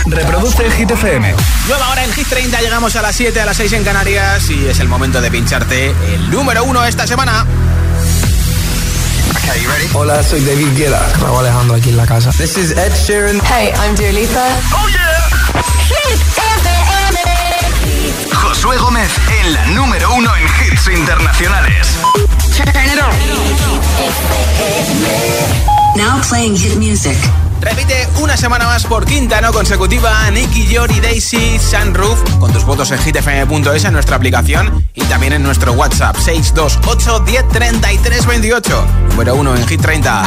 Reproduce Hit FM. Nueva hora en Hit 30, llegamos a las 7, a las 6 en Canarias y es el momento de pincharte el número 1 esta semana. Okay, you ready? Hola, soy David Guetta. Raúl Alejandro aquí en la casa. This is Ed Sheeran. Hey, I'm Dua Lipa. Oh yeah. Hit FM. Josué Gómez en la número 1 en hits internacionales. Turn it on. Now playing hit music. Repite una semana más por quinta no consecutiva Nicky Jor y Daisy Sunroof con tus votos en hitfm.es, en nuestra aplicación y también en nuestro WhatsApp 628 10 33 28. Número 1 en Hit 30.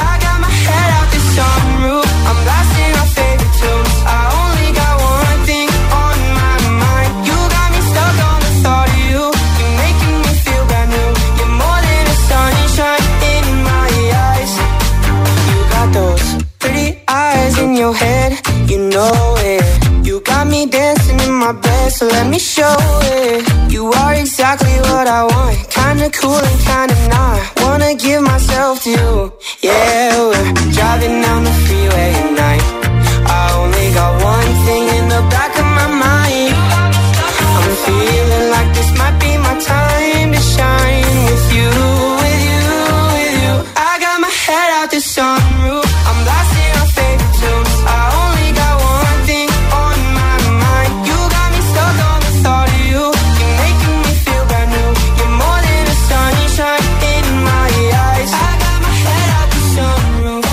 In your head, you know it. You got me dancing in my bed, so let me show it. You are exactly what I want, kinda cool and kinda not. Wanna give myself to you. Yeah, we're driving down the freeway at night. I only got one thing in the back of my mind. I'm feeling like this might be my time to shine with you, with you, with you. I got my head out the sunroof. I'm blasting our favorite tunes. I only got one thing on my mind. You got me stuck on the thought of you. You're making me feel brand new. You're more than a sunshine in my eyes. I got my head out the sunroof.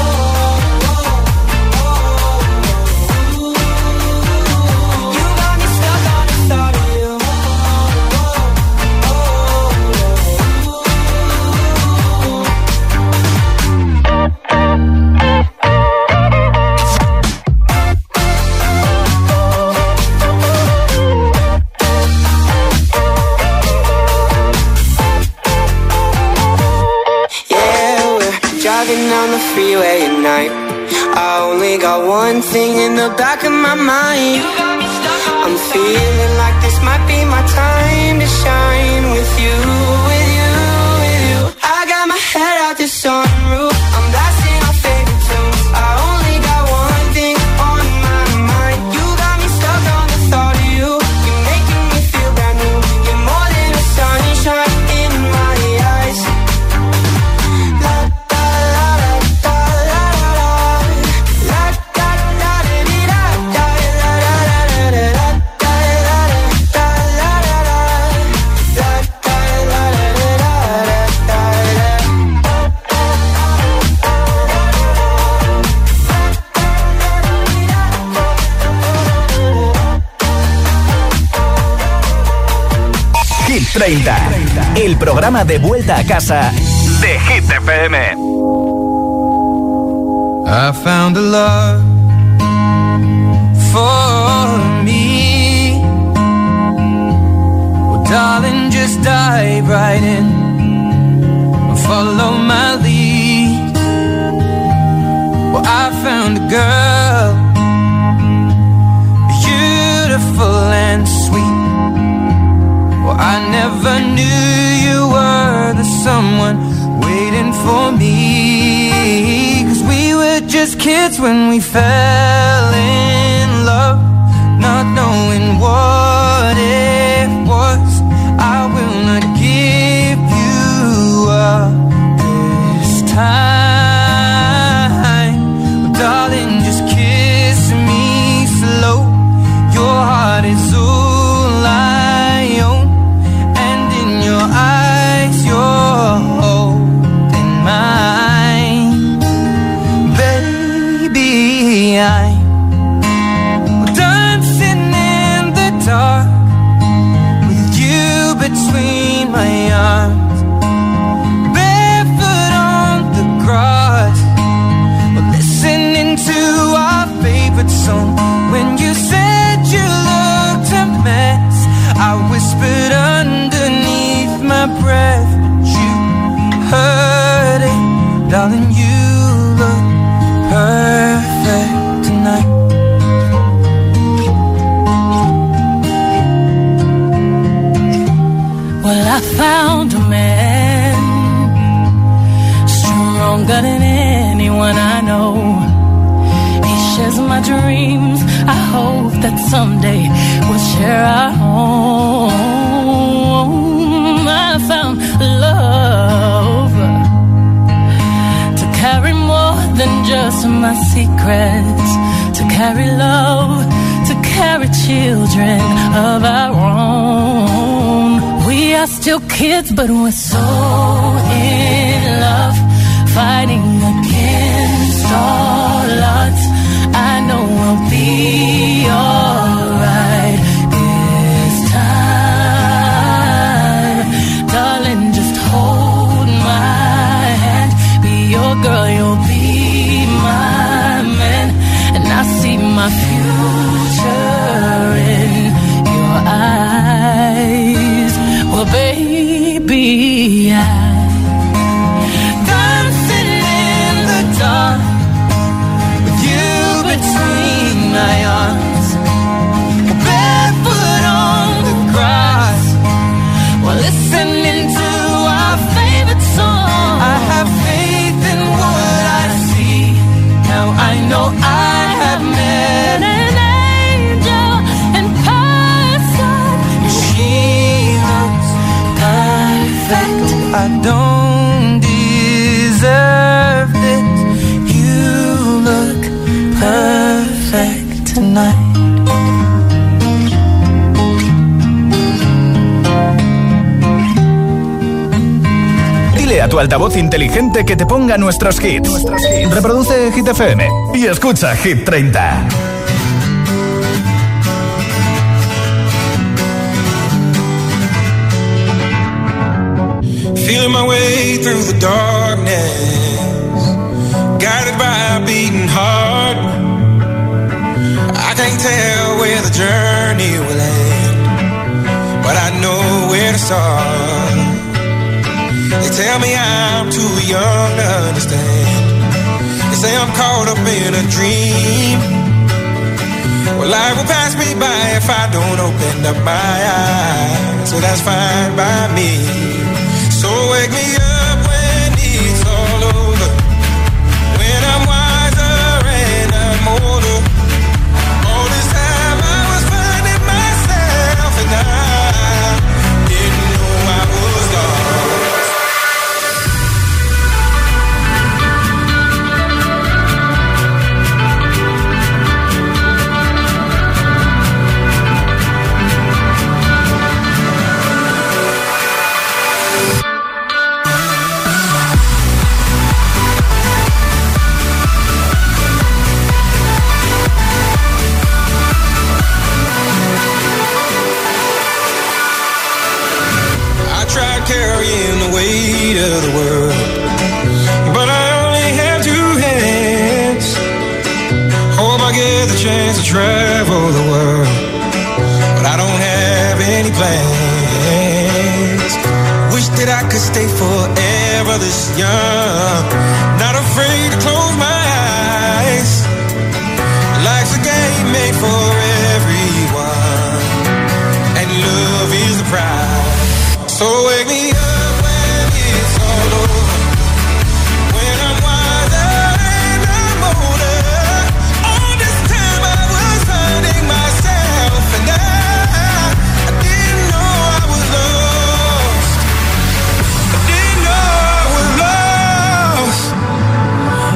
You got me stuck on the thought of you. Driving down the freeway at night. I only got one thing in the back of my mind. I'm feeling like this might be my time to shine with you, with you, with you. I got my head out the sunroof. I'm blasting our favorite tunes. I only got one thing on my mind. You got me stuck on the thought of you. You're making me feel brand new. You're more than a sunshine in my eyes. Hit 30, el programa de vuelta a casa de Hit FM. I found a love for me. Well, darling, just dive right in. Follow my lead. Well, I found a girl, beautiful and sweet. Well, I never knew you were the someone waiting for me. 'Cause we were just kids when we fell in love, not knowing what it was. I will not give you up this time. Well, darling, just kiss me slow. Your heart is all I own. Eyes, you're holding mine, baby. I'm dancing in the dark with you between my arms, barefoot on the grass, listening to our favorite song. When you said you looked a mess, I whispered underneath my breath, but you heard it, darling. You look perfect tonight. Well, I found a man stronger than anyone I know. He shares my dreams. I hope that someday we'll share our home. I found love to carry more than just my secrets, to carry love, to carry children of our own. We are still kids, but we're so in love, fighting against all odds. I know we'll be alright this time. Darling, just hold my hand, be your girl, you'll be my man, and I see my future in your eyes. Well, baby, I'm dancing in the dark with you between my arms, barefoot on the grass, while listening to our favorite song. I have faith in what I see. Now I know I have met an angel in person, and she looks perfect. I don't deserve this. You look perfect tonight. Dile a tu altavoz inteligente que te ponga nuestros hits. Reproduce Hit FM y escucha Hit 30. Feeling my way through the darkness, guided by a beating heart. I can't tell where the journey will end, but I know where to start. They tell me I'm too young to understand. They say I'm caught up in a dream. Well, life will pass me by if I don't open up my eyes. So that's fine by me. So wake me up when it's all over, when I'm wiser and I'm older. All this time I was finding myself and I didn't know I was lost. Carrying the weight of the world, but I only have two hands. Hope I get the chance to travel the world, but I don't have any plans. Wish that I could stay forever this young, not afraid to close my eyes. Life's a game made for everyone, and love is the prize. So wake me up when it's all over, when I'm wiser and I'm older. All this time I was finding myself and I didn't know I was lost. I didn't know I was lost.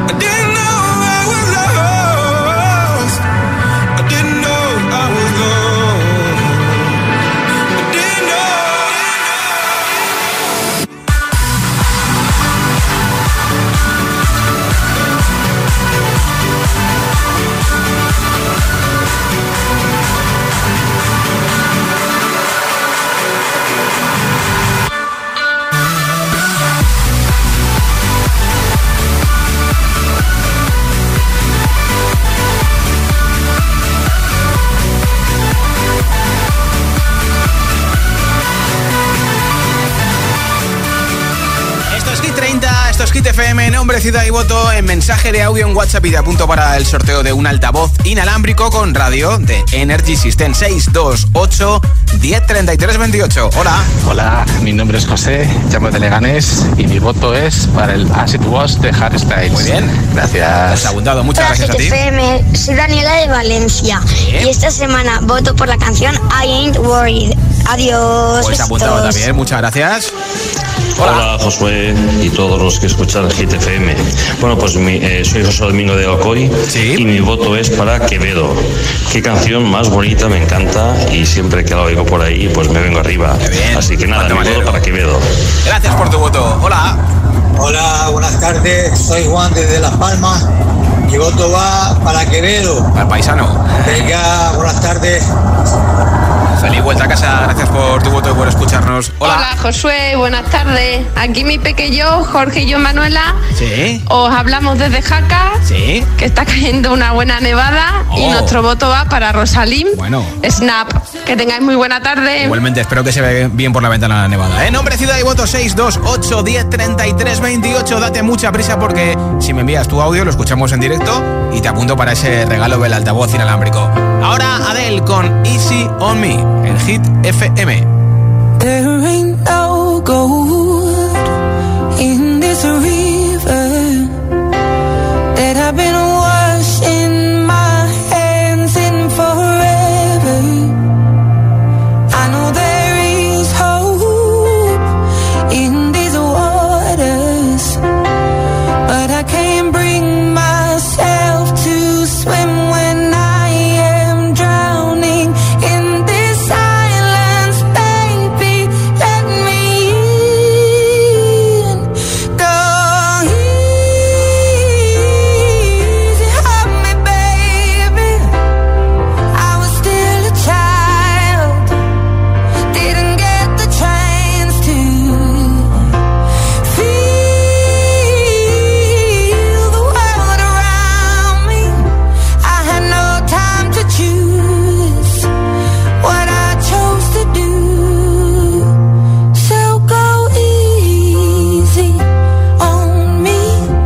FM, nombre, ciudad y voto en mensaje de audio en WhatsApp y te apunto para el sorteo de un altavoz inalámbrico con radio de Energy System. 628 1033 28. Hola. Hola, mi nombre es José, llamo de Leganés y mi voto es para el As It Was de Harry Styles. Muy bien. Gracias. Has apuntado, muchas gracias a ti. FM, soy Daniela de Valencia y esta semana voto por la canción I Ain't Worried. Adiós. Pues apuntado también, muchas gracias. Hola Josué y todos los que escuchan Hit FM. Bueno, pues soy José Domingo de Alcoy y mi voto es para Quevedo. Qué canción más bonita, me encanta y siempre que la oigo por ahí pues me vengo arriba. Así que nada, mi voto para Quevedo. Gracias por tu voto. Hola. Hola, buenas tardes. Soy Juan desde Las Palmas. Mi voto va para Quevedo. Al paisano. Venga, buenas tardes. Feliz vuelta a casa, gracias por tu voto y por escucharnos. Hola Josué, buenas tardes. Aquí mi pequeño, Jorge y yo, Manuela. Sí. Os hablamos desde Jaca. Sí. Que está cayendo una buena nevada. Y nuestro voto va para Rosalín. Bueno. Snap. Que tengáis muy buena tarde. Igualmente, espero que se vea bien por la ventana la nevada. Nombre, ciudad y voto 628 1033 28. Date mucha prisa porque si me envías tu audio lo escuchamos en directo y te apunto para ese regalo del altavoz inalámbrico. Ahora Adele con Easy on Me en Hit FM. There ain't no gold in this river that I've been washing my hands in forever. I know there is hope in these waters, but I can't bring myself to swim when I am drowning in this silence, baby. Let me in. Go easy on me, baby. I was still a child, didn't get the chance to feel the world around me. I had no time to choose what I chose to do. So go easy on me.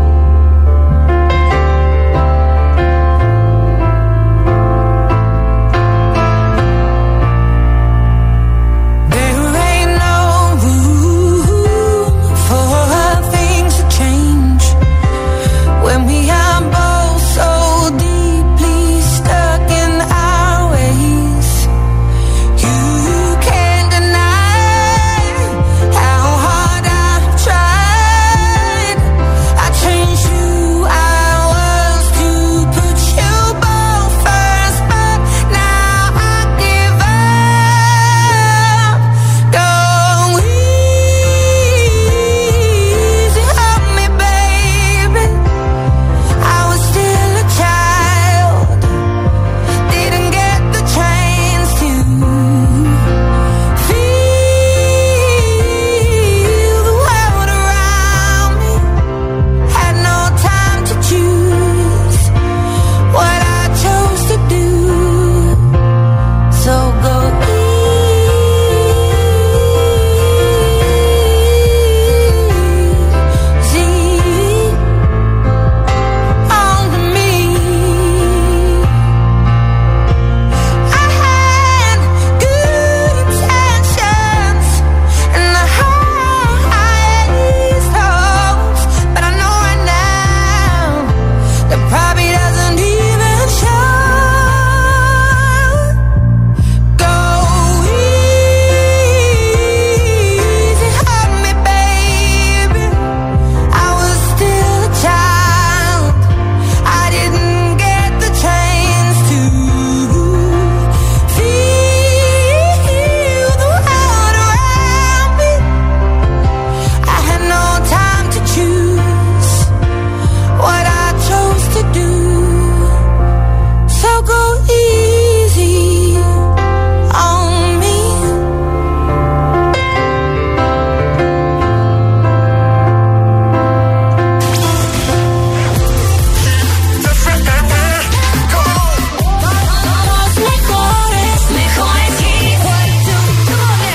There ain't no room for things to change when we are both so deeply stuck in our ways. You can't deny how hard I've tried. I changed who I was to put you both first, but now I give up. Go easy on me, baby. I was still a child, didn't get the chance to feel the world around me. Had no time to choose what I chose to do. So go easy on me. I had good intentions and the highest hopes, but I know right now that probably doesn't even show. Go easy on me, baby. I was still a child, I didn't get the chance to feel the world around me. I had no time to choose what I chose to do. So go easy on me. Mejores hits.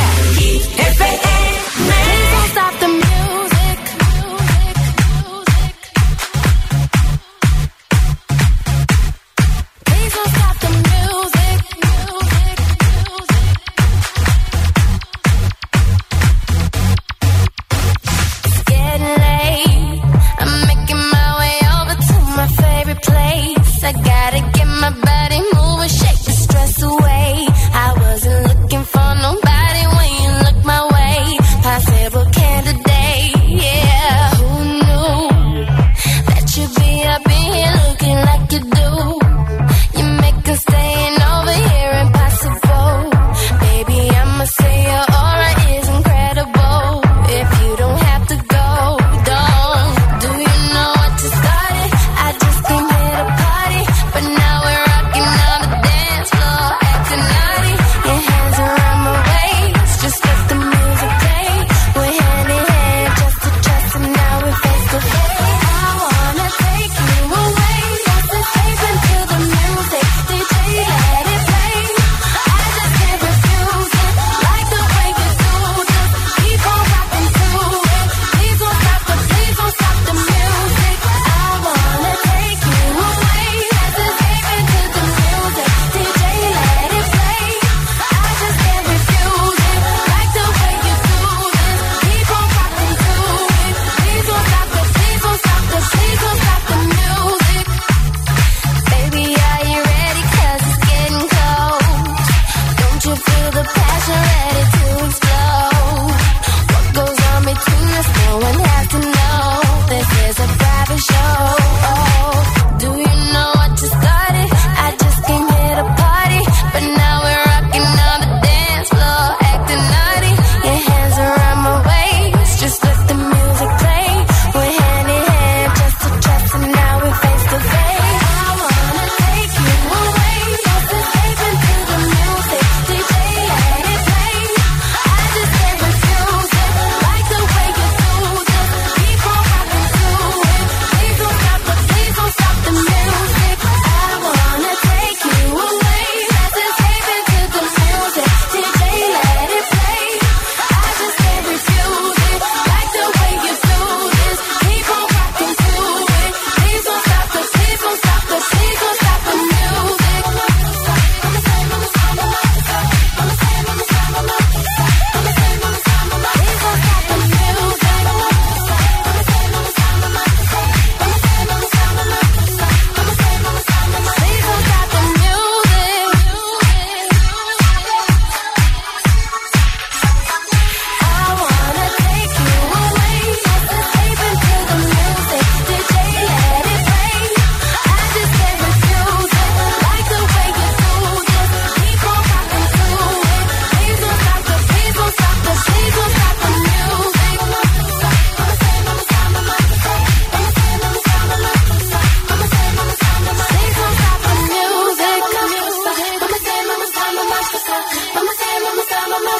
Hit FM. Please don't stop the music.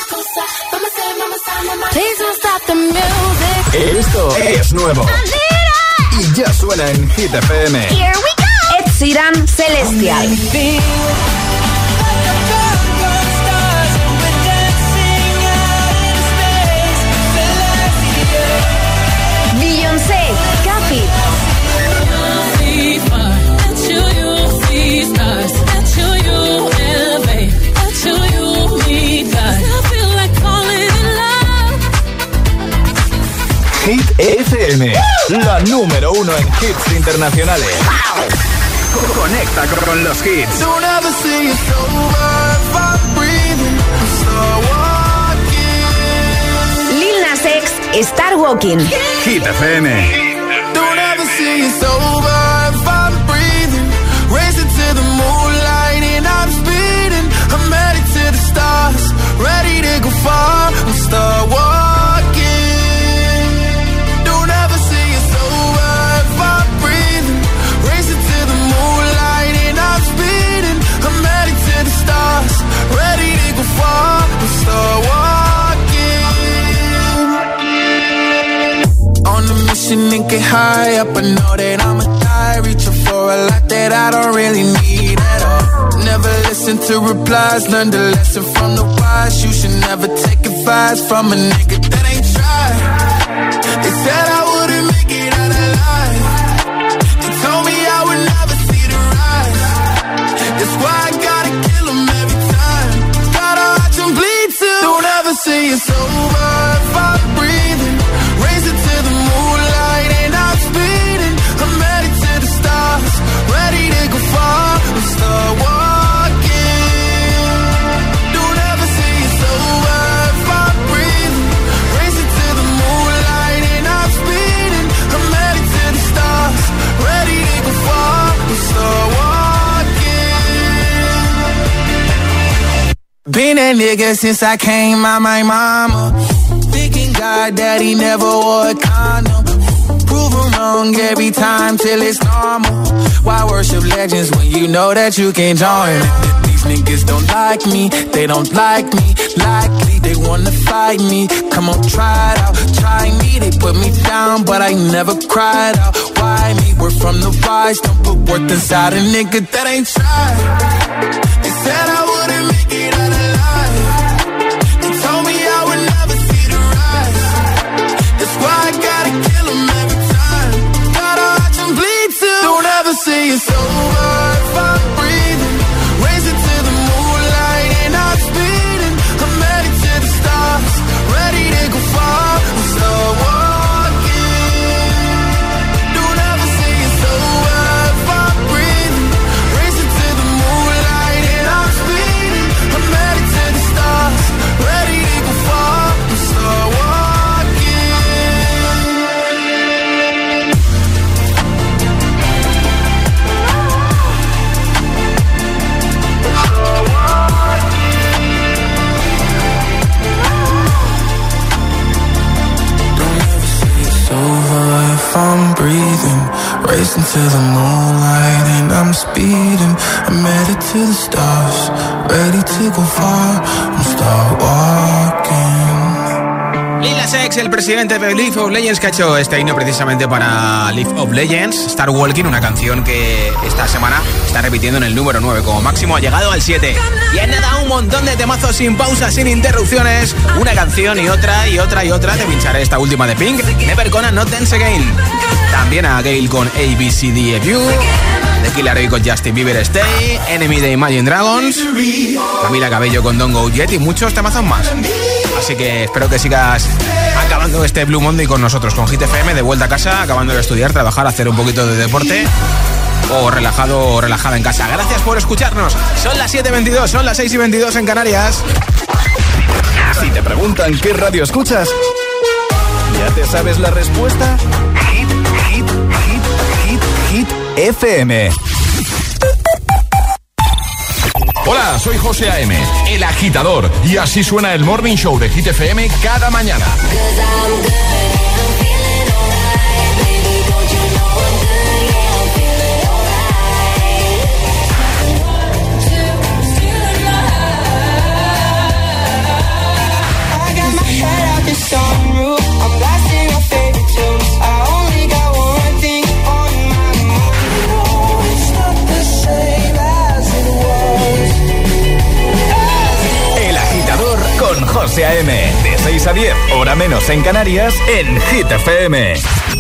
Please don't stop the music. Esto es nuevo. Y ya suena en Hit FM. Here we go. Ed Sheeran, Celestial. Beyoncé, Cathy. Hit FM, la número 1 en hits internacionales. Conecta con los hits. Lil Nas X, Star Walking. Hit FM. Don't ever see it's over if I'm breathing. Racing to the moonlight and I'm speeding. I'm headed to the stars, ready to go far. I'm start walking. Don't ever see it's over if I'm breathing. Racing to the moonlight and I'm speeding. I'm headed to the stars, ready to go far. I'm start walking. On a mission and get high up, I know that I'ma die. Reaching for a lot that I don't really need at all. Never listen to replies, learn the lesson from the wise. You should never take advice from a nigga that ain't tried. They said I wouldn't make it out alive. They told me I would never see the rise. That's why I gotta kill them every time. Gotta watch them bleed too. Don't ever say it's over if I'm breathing. Racing to the moonlight and I'm speeding. I'm headed to the stars, ready to go far. I'm start walking. Don't ever say it's over if I'm breathing. Racing to the moonlight and I'm speeding. I'm headed to the stars, ready to go far. I'm start walking. Been that nigga since I came out my mama. Thinking God that he never wore a condom. Prove him wrong every time till it's normal. Why worship legends when you know that you can join? These niggas don't like me, they don't like me. Likely they wanna fight me. Come on, try it out, try me. They put me down, but I never cried out. Why me? We're from the wise, don't put worth inside a nigga that ain't tried. They said I wouldn't make it out alive. They told me I would never see the rise. That's why I gotta kill them every time. Gotta watch them bleed too. Don't ever say it's over if I'm breathing. Racing to the moonlight and I'm speeding. I'm headed to the stars, ready to go far. I'm start walking. Don't ever say it's over if I'm breathing. Racing to the moonlight and I'm speeding. I'm headed to the stars, ready to go far. I'm start walking. If I'm breathing, racing to the moonlight and I'm speeding. I'm headed to the stars, ready to go far. I'm start walking. Lil Nas X, el presidente de League of Legends, que ha hecho este himno precisamente para League of Legends, Star Walking, una canción que esta semana está repitiendo en el número 9, como máximo ha llegado al 7. Y en nada, un montón de temazos sin pausas, sin interrupciones, una canción y otra y otra y otra. Te pincharé esta última de Pink, Never Gonna Not Dance Again. También a Gale con ABCDFU, The Killer Ray con Justin Bieber Stay, Enemy de Imagine Dragons, Camila Cabello con Don't Go Yet y muchos temazos más. Así que espero que sigas acabando este Blue Monday con nosotros, con Hit FM, de vuelta a casa, acabando de estudiar, trabajar, hacer un poquito de deporte o relajado o relajada en casa. Gracias por escucharnos. Son las 7:22, son las 6:22 en Canarias. Si te preguntan qué radio escuchas, ¿ya te sabes la respuesta? Hit FM. Hola, soy José A.M., el agitador, y así suena el Morning Show de Hit FM cada mañana. José A.M. De 6 a 10, hora menos en Canarias, en Hit FM.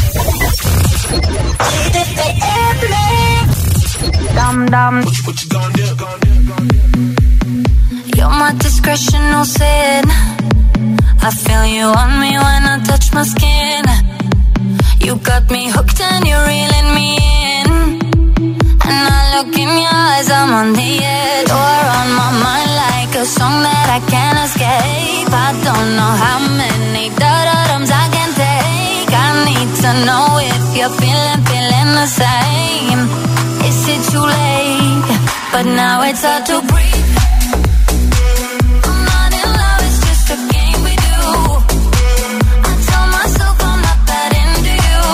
You're my discretional sin. I feel you on me when I touch my skin. You got me hooked and you're reeling me in. And I look in your eyes, I'm on the edge. You're on my mind like a song that I can't escape. I don't know how many da-da-dums I can take. I need to know if you're feeling the same. Is it too late? But now it's hard to breathe. I'm not in love, it's just a game we do. I tell myself I'm not that into you,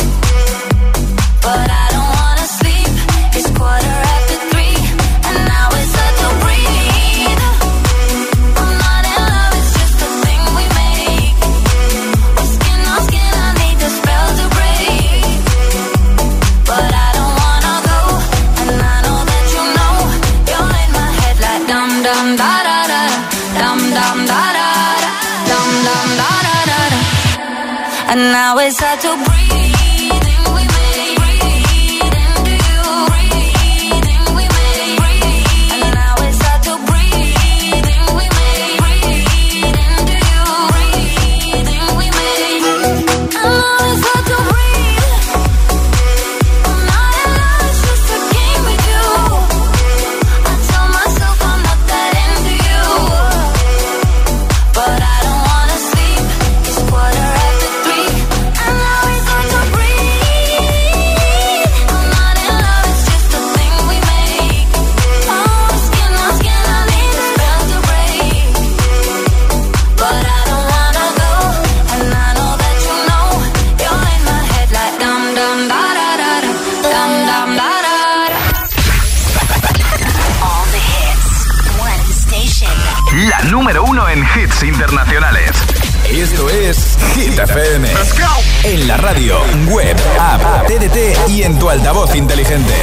but I don't wanna sleep. It's 3:15, and now it's hard to breathe. I'm not in love, it's just a thing we make. We're skin on skin, I need the spell to break, but I don't wanna go, and I know that you know. You're in my head like dum dum da da da, dum dum da da da, dum dum da da da da. And now it's hard to breathe. La número 1 en hits internacionales. Esto es Hit FM. En la radio, web, app, TDT y en tu altavoz inteligente.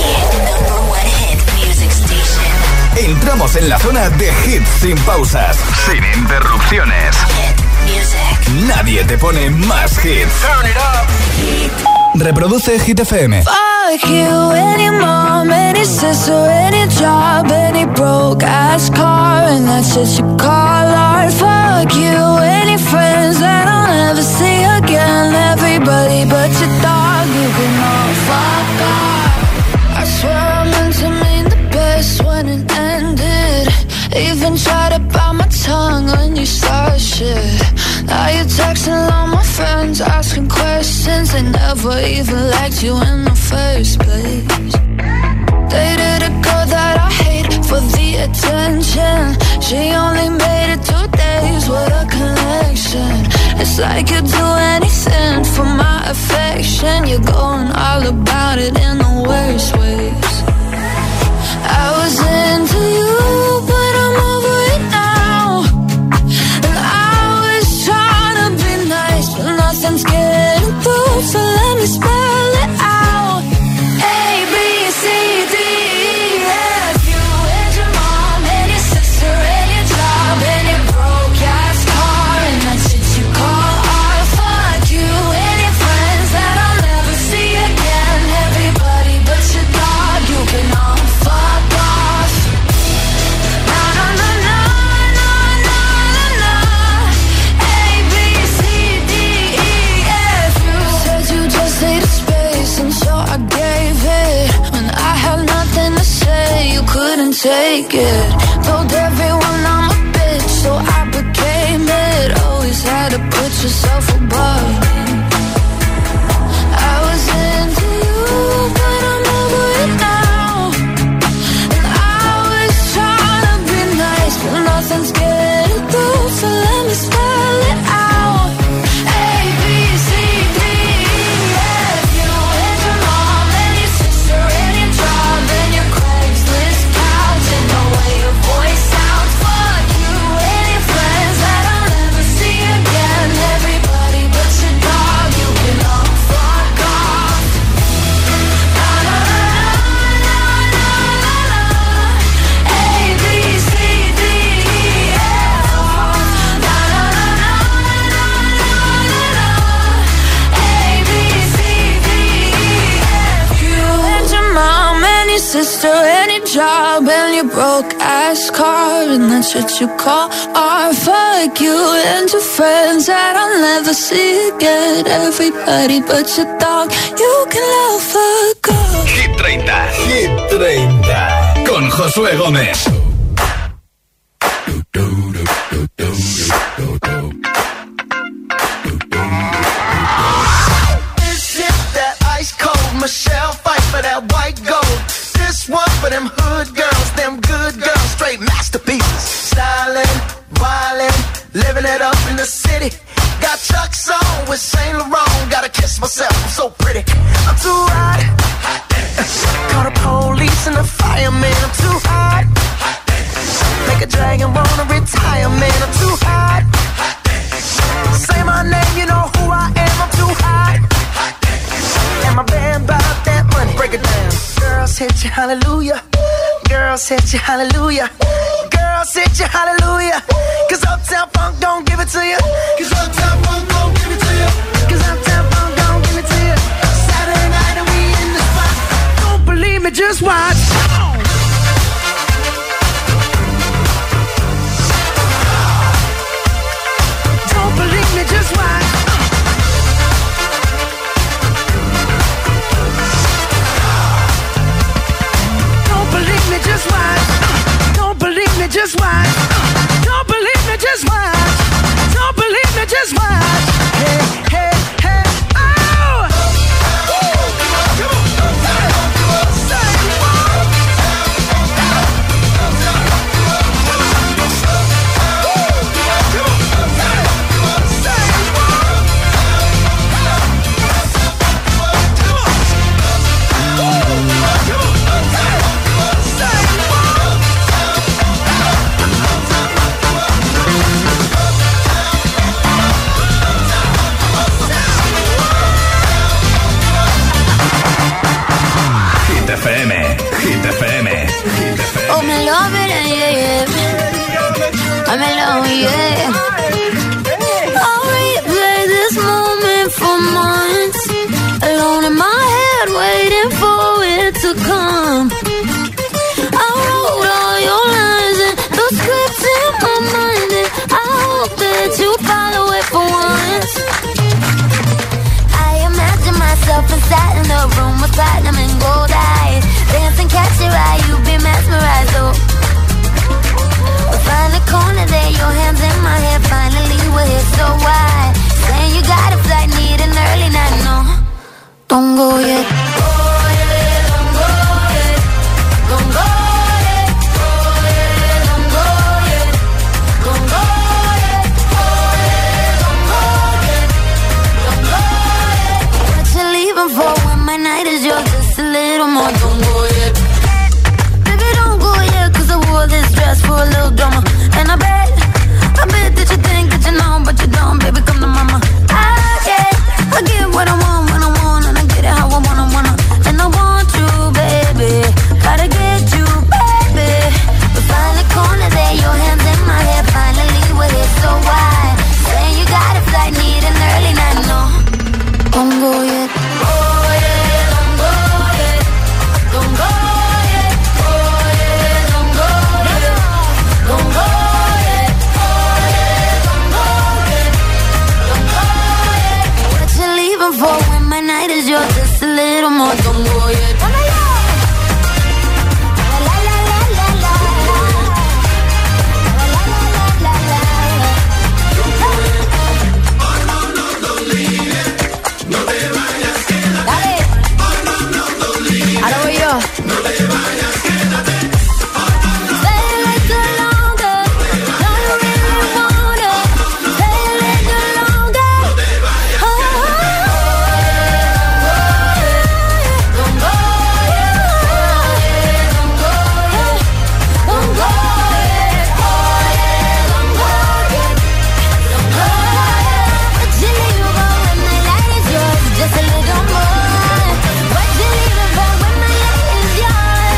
Entramos en la zona de hits sin pausas, sin interrupciones. Nadie te pone más hits. Reproduce Hit FM. Fuck you, any mom, any sister, any job, any broke ass car, and that's just you call art. Fuck you, any friends that I'll never see again. Everybody but your dog, you can all fuck off. I swear I meant to mean the best when it ended. Even tried to bite my tongue when you started shit. Now you're texting all my friends, asking questions. They never even liked you in the first place. Dated a girl that I hate for the attention. She only made it 2 days with a connection. It's like you'd do anything for my affection. You're going all about it in the worst ways. I was into you, but I'm over it now. And I was trying to be nice, but nothing's getting through, so let me spell it out. A, B, C, D, E, F, you and your mom, and your sister, and your job, and your broke ass car, and that shit you call art. Fuck you and your friends that I'll never see again. Everybody but your dog, you can all fuck off. Na na na na na na na na. A, B, C, D, E, F. You said you just needed space, and so I gave it. When I had nothing to say, you couldn't take it. Told everyone I'm a bitch, so I became it. Always had to put yourself above me. I was into you, but I'm over it now. And I was trying to be nice, but nothing's getting through, so let me spell it out. A, B, C, D, E, F. You and your mom, and your sister, and your job, and your Craigslist couch, and the way your voice sounds. Fuck you and your friends that I'll never see again. Everybody next to any job and your broke-ass car, and that's what you call art. Fuck you and your friends that I'll never see again. Everybody but your dog, you can love a girl. Hit 30, Hit 30, con Josué Gómez. This is that ice cold Michelle fight for that white gold. This one for them hood girls, them good girls, straight masterpieces. Stylin', wildin', living it up in the city. Got Chuck's on with Saint Laurent. Gotta kiss myself, I'm so pretty. I'm too hot. Call the police and the fireman. I'm too hot. Make a dragon wanna retire, man. I'm too hot. Say my name, you know who I am. I'm too hot. And my band bought that money. Break it down. Girls hit you, hallelujah. Girls hit you, hallelujah. Girls hit you, hallelujah. Cause Uptown Funk don't give it to you. Cause Uptown Funk don't give it to you. Cause Uptown Funk don't give it to you. Saturday night and we in the spot. Don't believe me, just watch. Don't believe me, just watch. Don't believe me, just watch. Don't believe me, just watch. Don't believe me, just watch. Don't believe me, just watch. Hey, hey, hey, oh! Hit FM, Hit FM. Oh, me love it, yeah. I'm in love, yeah. I'll replay this moment for months. Alone in my head, waiting for it to come. I wrote all your lines and the scripts in my mind, and I hope that you follow it for once. I imagine myself inside in the room with platinum and gold eyes. Dance and catch your eye, you be mesmerized, oh. We'll find a corner there, your hands in my hair. Finally we're here, so why? Saying you got a flight, need an early night, no. Don't go yet. Oh yeah, don't go yet. Don't go yet. Oh yeah, don't go yet. Don't go yet. Oh yeah, don't go yet. Don't go yet. What you leaving for when my night is yours? Just a little more. Don't go yet. Baby, don't go yet, 'cause I wore this dress for a little drama. And I bet that you think that you know, but you don't. Baby, come to mama. I get what I want when I want, and I get it how I wanna. And I want you, baby. Gotta get you, baby. We find a corner there, your hands in my hair. Finally we're here, so why? Saying you got a flight, need an early night, no. Don't go yet. Oh yeah, don't go yet. Don't go yet. Oh yeah, don't go yet. Don't go yet. Oh yeah, don't go yet. Don't go yet. What you leaving for when my night is yours? Just a little more. Don't go yet. Ahora voy yo. No te vayas, quédate. Stay a little longer. No, you really wanna. Stay a little longer. No te vayas, don't go yet. Don't go yet. Don't go yet. Oh yeah, don't go yet. Don't go yet. What you leaving for when the light is yours? Just a little more. What you leaving for when my night is yours?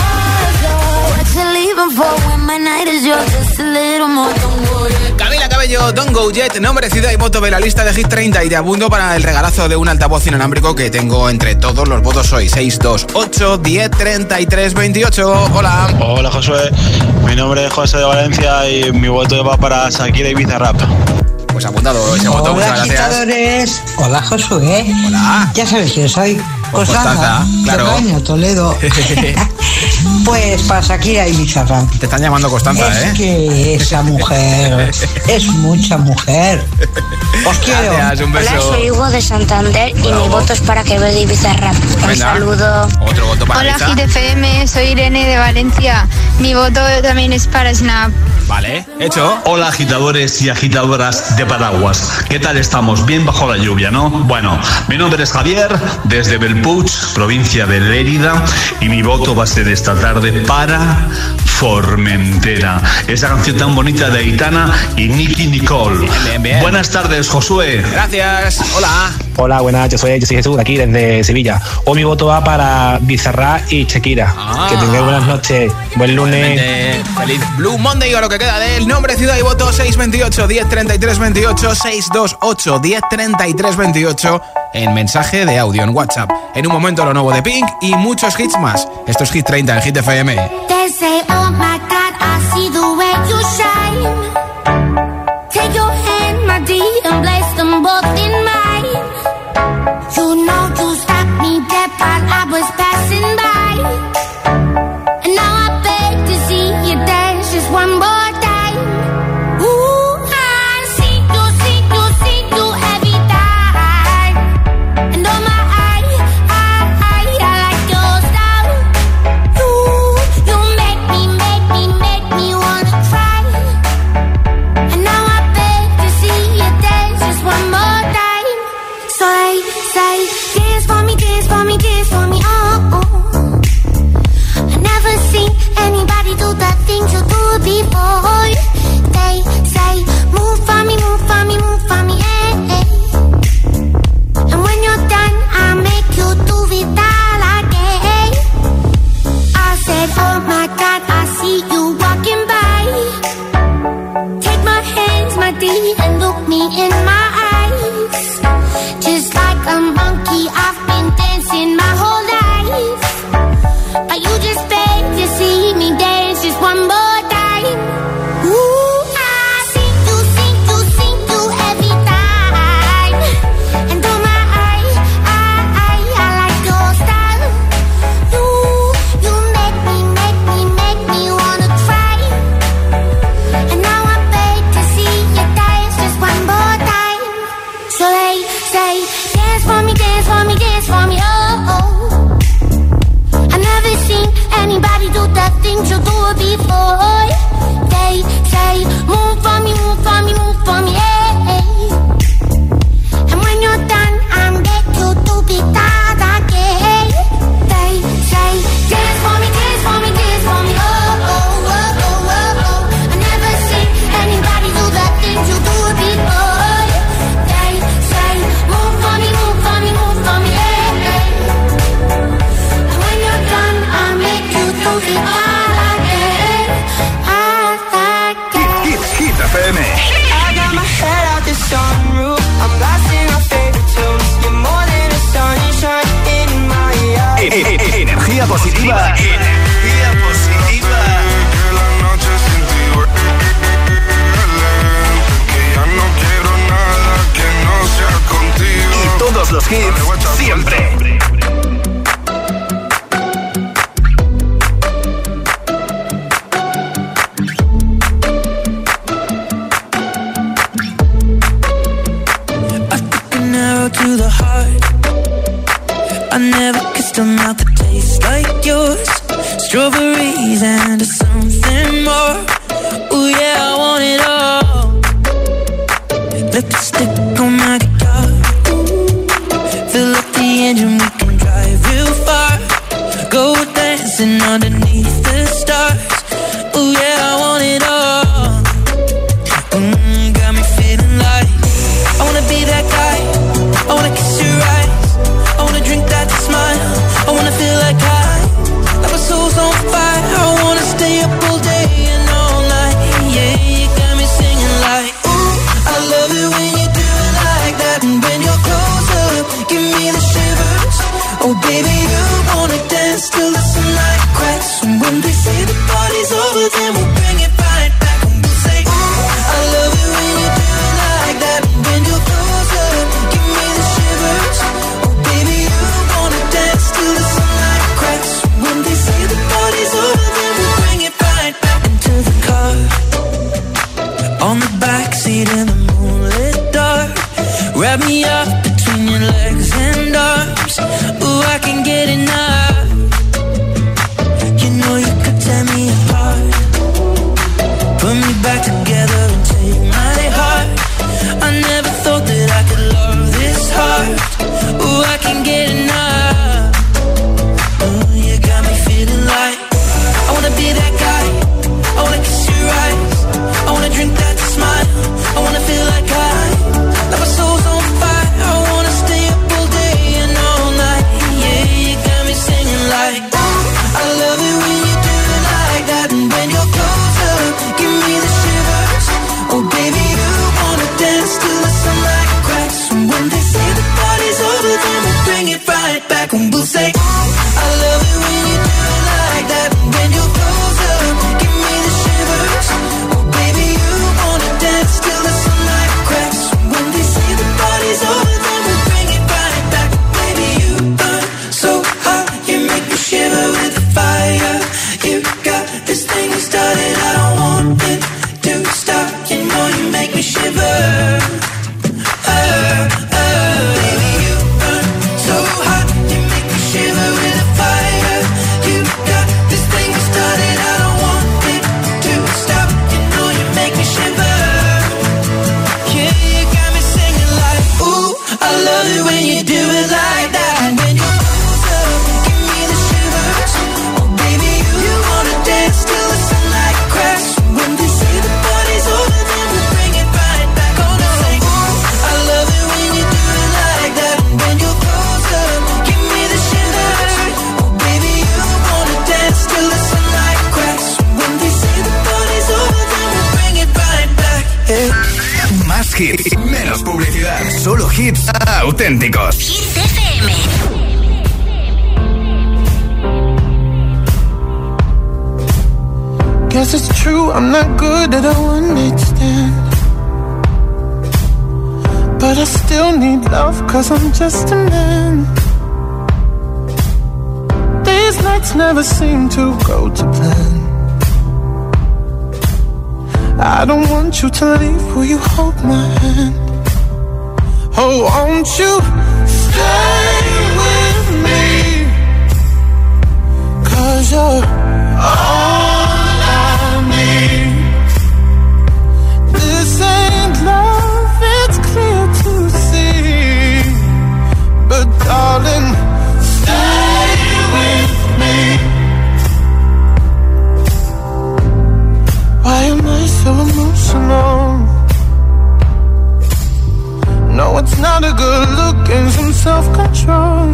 Yours, yours. What you leaving for when my night is yours? Just a little more. Don't go yet. Camila Cabello ello, Don't Go Yet, nombre, ciudad y voto de la lista de Hit 30. Y te apunto para el regalazo de un altavoz inalámbrico que tengo entre todos los votos hoy. 628 10 33 28. Hola. Hola, Josué. Mi nombre es José de Valencia y mi voto va para Shakira y Bizarrap. Pues apuntado ese voto, muchas gracias. Agitadores. Hola, Josué. Hola. Ya sabes quién soy. Pues Constanza, claro. Tocaño, Toledo. Pues para Shakira y Bizarrap. Te están llamando Constanza, Es que esa mujer es mucha mujer. Os quiero. Gracias, un beso. Hola, soy Hugo de Santander y mi voto es para Quevedo y Bizarrap. Un saludo. Otro voto para Hola, Lisa. Hit FM, soy Irene de Valencia. Mi voto también es para Snap. Vale, hecho. Hola, agitadores y agitadoras de paraguas. ¿Qué tal estamos? Bien bajo la lluvia, ¿no? Bueno, mi nombre es Javier, desde Belpuig, provincia de Lérida, y mi voto va a ser esta tarde para Formentera. Esa canción tan bonita de Aitana y Nicky Nicole. Bien, bien. Buenas tardes, Josué. Gracias. Hola. Hola, buenas, yo soy Jesús, aquí desde Sevilla. Hoy mi voto va para Bizarrap y Shakira. Que tengáis buenas noches, buen lunes. Feliz Blue Monday o lo que queda de él. Nombre, ciudad y voto 628 10 33 28 628 10 33 28 en mensaje de audio en WhatsApp. En un momento lo nuevo de Pink y muchos hits más. Esto es Hit 30 en Hit FM. They say, oh my God, I see the way you shine. Take your hand, my dear, and place them both in mine. You know you stopped me dead while I was passing by. And now I beg to see you dance just one more time. Ooh, I see you every time. And oh my, I like your style. You make me wanna cry. And now I beg to see you dance just one more time. So they say, dance for me, dance for me, dance for me, oh, oh. I never seen anybody do the things you do before. They say, move for me, move for me, move for me, eh, eh. And when you're done, I'll make you do it all again. I said, oh my God, I see you walking by. Take my hands, my dear, and look me in my eyes. Just like a monkey, I've been dancing my whole life. But you just beg to see me dance just one more time. Ooh, I see you every time. And oh my, I like your style. You make me wanna cry. And now I beg to see you dance just one more time. So they say, dance for me, dance for me, dance for me, oh, oh. I never seen anybody do the things you do before. They say, move for me, move for me, move for me, eh, eh. And when you're done, I'll make you do it all again. They say, dance for me, dance for me, dance for me, oh, oh, oh, oh, oh, oh. I never seen anybody do the things you do before. They say, move for me, move for me, move for me, eh, eh. And when you're done, I'll make you do it all again. Hit FM. I got my head out the sunroof. I'm blasting my favorite tunes. You're more than a sunshine in my eyes. Energía positiva. Energía positiva. Que la noche sin ti duele. Que ya no quiero nada que no sea contigo. Y todos los hits siempre. To the heart, I never kissed a mouth that tastes like yours. Más hits, menos publicidad. Solo hits auténticos. Hit FM. Guess it's true, I'm not good at a one-night stand, but I still need love, cause I'm just a man. These nights never seem to go to plan. I don't want you to leave, will you hold my hand? Oh, won't you stay with me? Cause you're all I need. This ain't love, it's clear to see, but darling, stay with me. Why am I so emotional? No, it's not a good look and some self-control.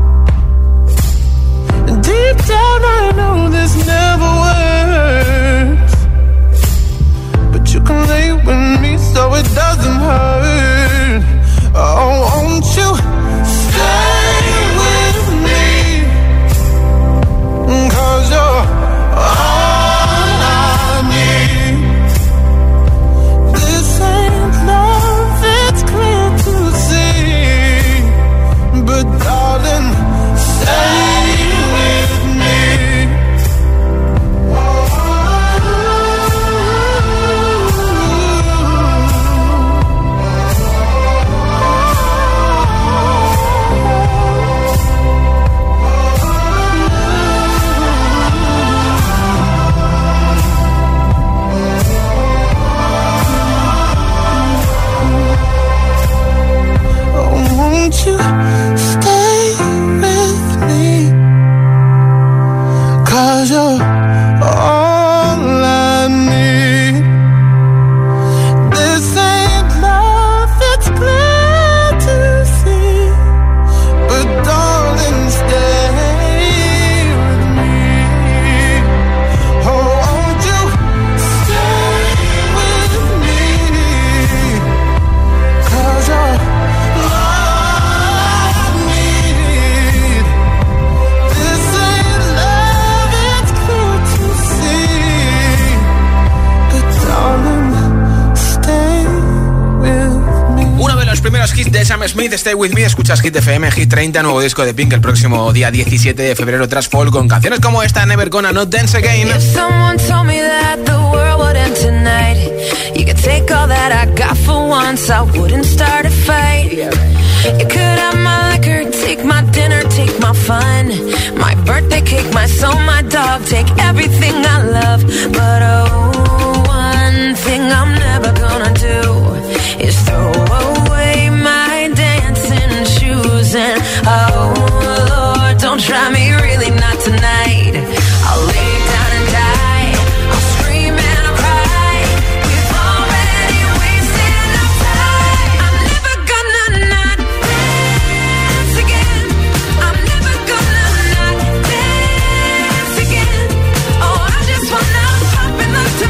And deep down I know this never works, but you can lay with me so it doesn't hurt. Oh, won't you stay with me? 'Cause you're all I need. This ain't love, it's clear to see, but darling, stay with me. Won't you stay with me? 'Cause you're all I need. This ain't love, it's clear to see, but darling, stay with me. Oh, won't you stay with me? 'Cause you're primeros hits de Sam Smith, Stay With Me. Escuchas Hit FM, Hit 30, nuevo disco de Pink el próximo día 17 de febrero tras Fall, con canciones como esta, Never Gonna Not Dance Again. If someone told me that the world would end tonight, you could take all that I got for once, I wouldn't start a fight. You could have my liquor, take my dinner, take my fun, my birthday cake, my soul, my dog, take everything I love. But oh, one thing I'm never gonna do is throw away my dancing shoes. And oh Lord, don't try me, really not tonight. I'll lay down and die, I'll scream and I'll cry. We've already wasted enough time. I'm never gonna not dance again. I'm never gonna not dance again. Oh, I just wanna pop in the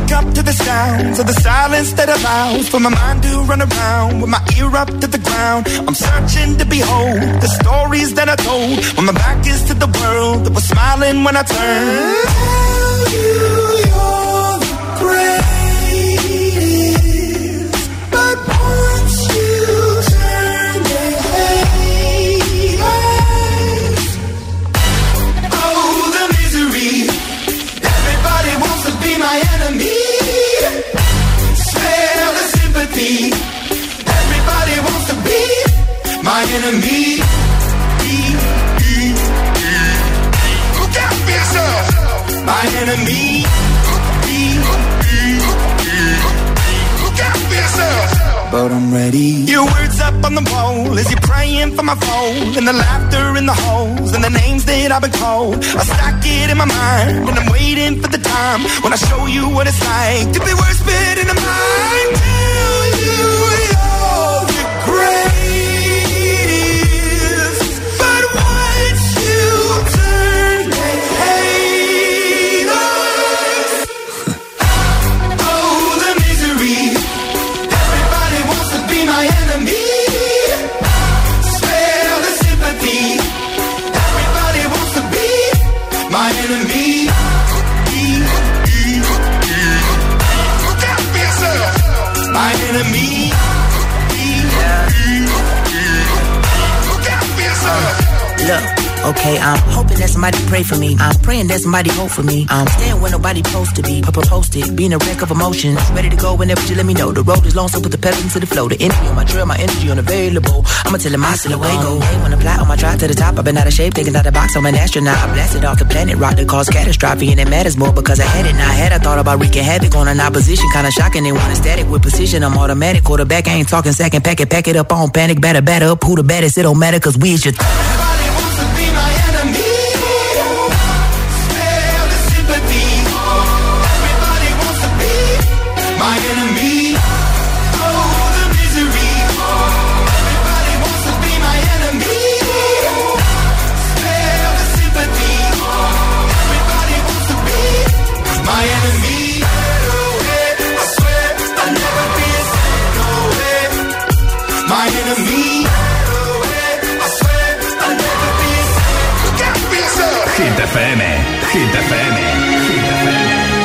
wake up to the sounds of the silence that allows for my mind to run around with my ear up to the ground. I'm searching to behold the stories that I told when my back is to the world that was smiling when I turned. Tell you you're the greatest, but once you turn, they hate us. Oh, the misery. Everybody wants to be my enemy. Smell the sympathy. Everybody wants to be my enemy. Look out for yourself. My enemy. Look out for yourself. But I'm ready. Your words up on the wall as you're praying for my phone, and the laughter in the halls and the names that I've been called. I stack it in my mind and I'm waiting for the time when I show you what it's like to be worse fit in the mind. Tell you you're the greatest, but once you turn, they hate us. Oh, the misery. Everybody wants to be my enemy. Spare the sympathy. Everybody wants to be my enemy. Look out for yourself. My enemy. Look out for yourself. Look, okay, I'm hoping that somebody pray for me. I'm praying that somebody hope for me. I'm staying where nobody supposed to be. Posted, being a wreck of emotions. Ready to go whenever you let me know. The road is long, so put the pedal into the flow. The energy on my trail, my energy unavailable. I'ma tell him I still away go. Hey, when I fly on my drive to the top, I've been out of shape, thinking out the box. I'm an astronaut. I blasted off the planet rock that caused catastrophe, and it matters more because I had it. Now I had. I thought about wreaking havoc on an opposition, kinda shocking. They want a static with precision. I'm automatic. Quarterback, I ain't talking second. Pack it up on panic. Batter up. Who the baddest? It don't matter, cause we is your. My enemy, oh the misery. Everybody wants to be my enemy. Spare the sympathy. Everybody wants to be my enemy. I swear I'll never be a no way. My enemy. I swear I'll never be a look out for yourself. Hit FM, Hit FM, Hit FM.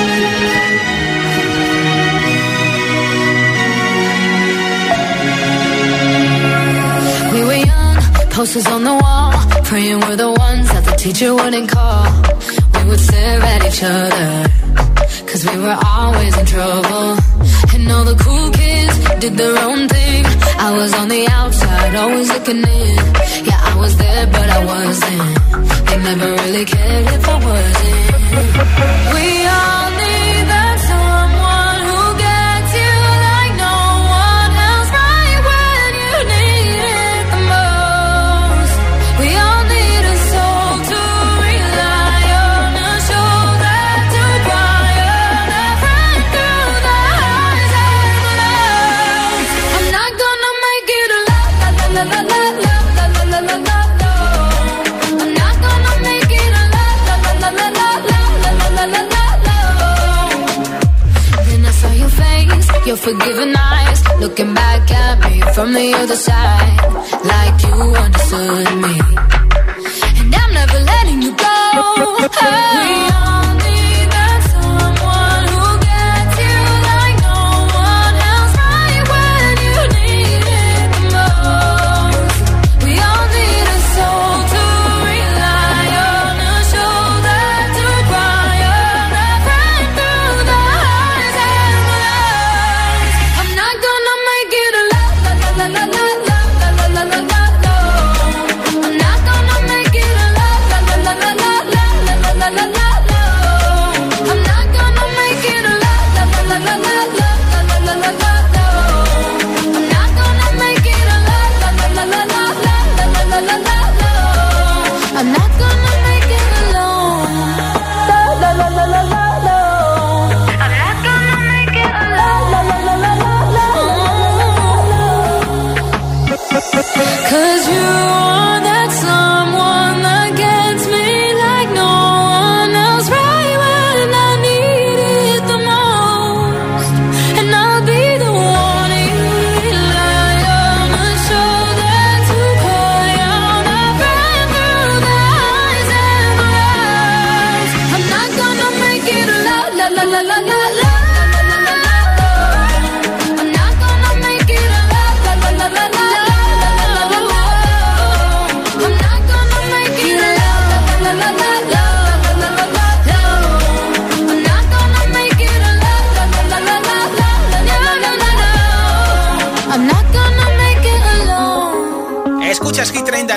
Posters on the wall, praying we're the ones that the teacher wouldn't call. We would stare at each other, cause we were always in trouble. And all the cool kids did their own thing. I was on the outside, always looking in. Yeah, I was there, but I wasn't. They never really cared if I wasn't. We all need that someone who gets you like no one else, right when you need it the most. We all need a soul to rely on, a shoulder to cry on, a friend through the highs and the lows. I'm not gonna make it a la la la la la la la la la la la. I'm not gonna make it a la la la la la la la la la la la. Then I saw your face, your forgiving eyes, looking back at me from the other side, like you understood me. And I'm never letting you go. We all need that someone who gets you like no one else, right when you need it the most. We all need a soul to rely on, a shoulder to cry on, a friend through the highs and the lows. I'm not gonna make it a la la la la la la la la la la la. I'm not gonna make it a la la la la la la la la la la.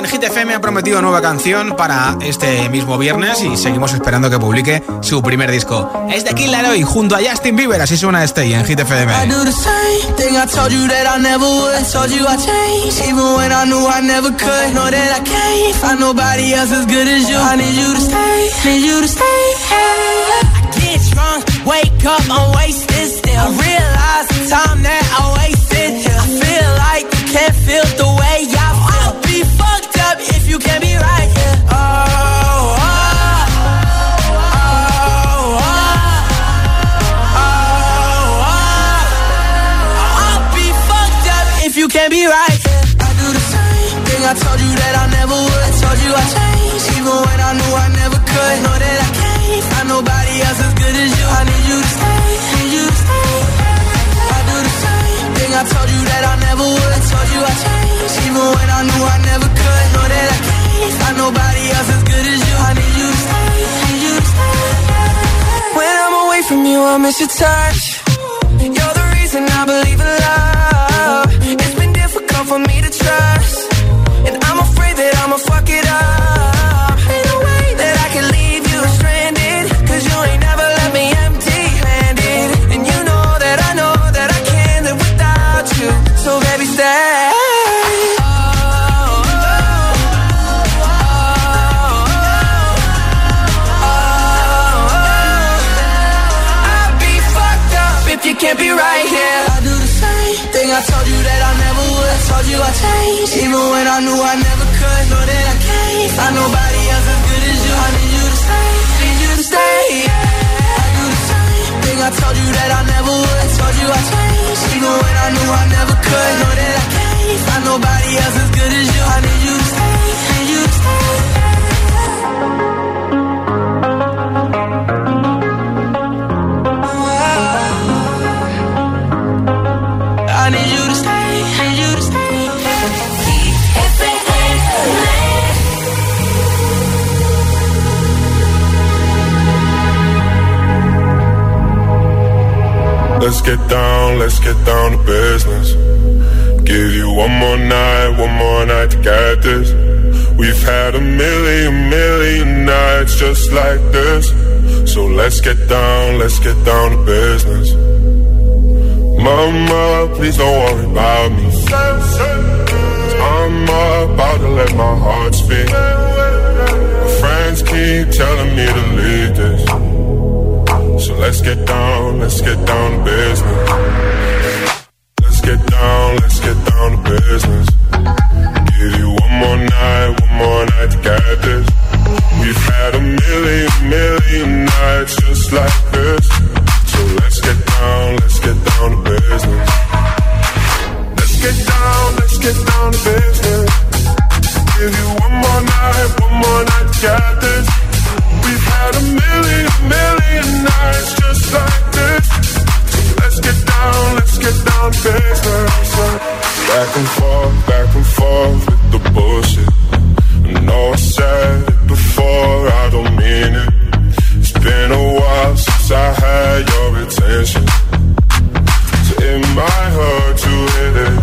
Hit FM ha prometido nueva canción para este mismo viernes y seguimos esperando que publique su primer disco. Es de Kid Laroi junto a Justin Bieber, así suena Stay en Hit FM. I do the same thing I told you that I never would. Told you I changed, even when I knew I never could. Know that I can't find nobody else as good as you. I need you to stay, need you to stay. I get drunk, wake up, I'm wasted still. I realize the time that I wasted here. I feel like you can't feel the way I feel. I'll be fucked up if you can't be right here. You can't be right, yeah. I do the same thing I told you that I never would. Told you I changed, even when I knew I never could. Know that I can't find nobody else as good as you. I need you to stay, need you to stay. I do the same thing I told you that I never would. Told you I changed, even when I knew I never could. Know that I can't find nobody else as good as you. I need you to stay, need you to stay. When I'm away from you, I miss your touch. You're the reason I believe in love. It's been difficult for me to trust, and I'm afraid that I'ma fuck it up. Ain't no way that I can leave you stranded, cause you ain't never left me empty-handed. And you know that I can't live without you. So baby stay. I'll be fucked up if you can't be right here. I do the same thing I told you that I never would. Told you I changed, even when I knew I never could. Know that I can't find nobody else as good as you. I need you to stay, need you to stay. I do the same thing I told you that I never would. Told you I changed, even when I knew I never could. Know that I can't find nobody else as good as you. I need you to stay, need you to stay. I need you to stay, need you to stay. Let's get down to business. Give you one more night to get this. We've had a million nights just like this. So let's get down to business. Mama, please don't worry about me. I'm about to let my heart speak. My friends keep telling me to leave this. So let's get down to business. Let's get down to business. Give you one more night to get this. We've had a million nights just like this. So let's get down to business. Let's get down to business. Give you one more night to get this. We've had a million nights just like this. So let's get down to business. Back and forth with the bullshit. I know I said it before, I don't mean it. It's been a while since I had your attention, so it might hurt to hit it.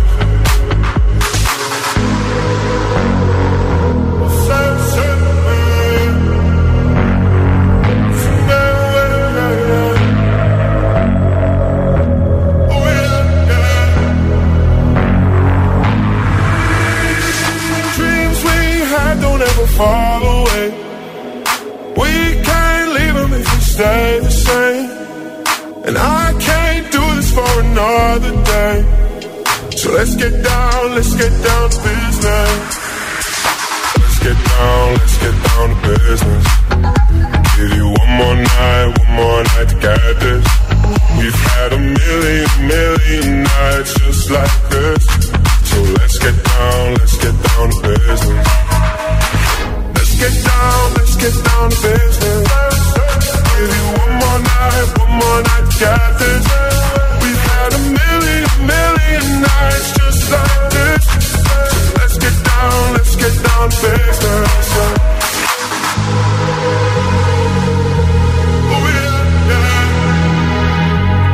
Dreams we had don't ever fall away. We can't leave them if we stay the same. And I can't do this for another day. So let's get down to business. Let's get down to business. Give you one more night to get this. We've had a million nights just like this. So let's get down to business. Let's get down to business. Give you one more night to get this. We've had a million nights just like this. So let's get down to business.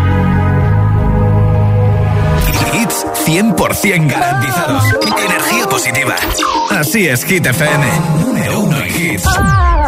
Hits 100% garantizados. Energía positiva. Así es Hit FM, número 1 en hits.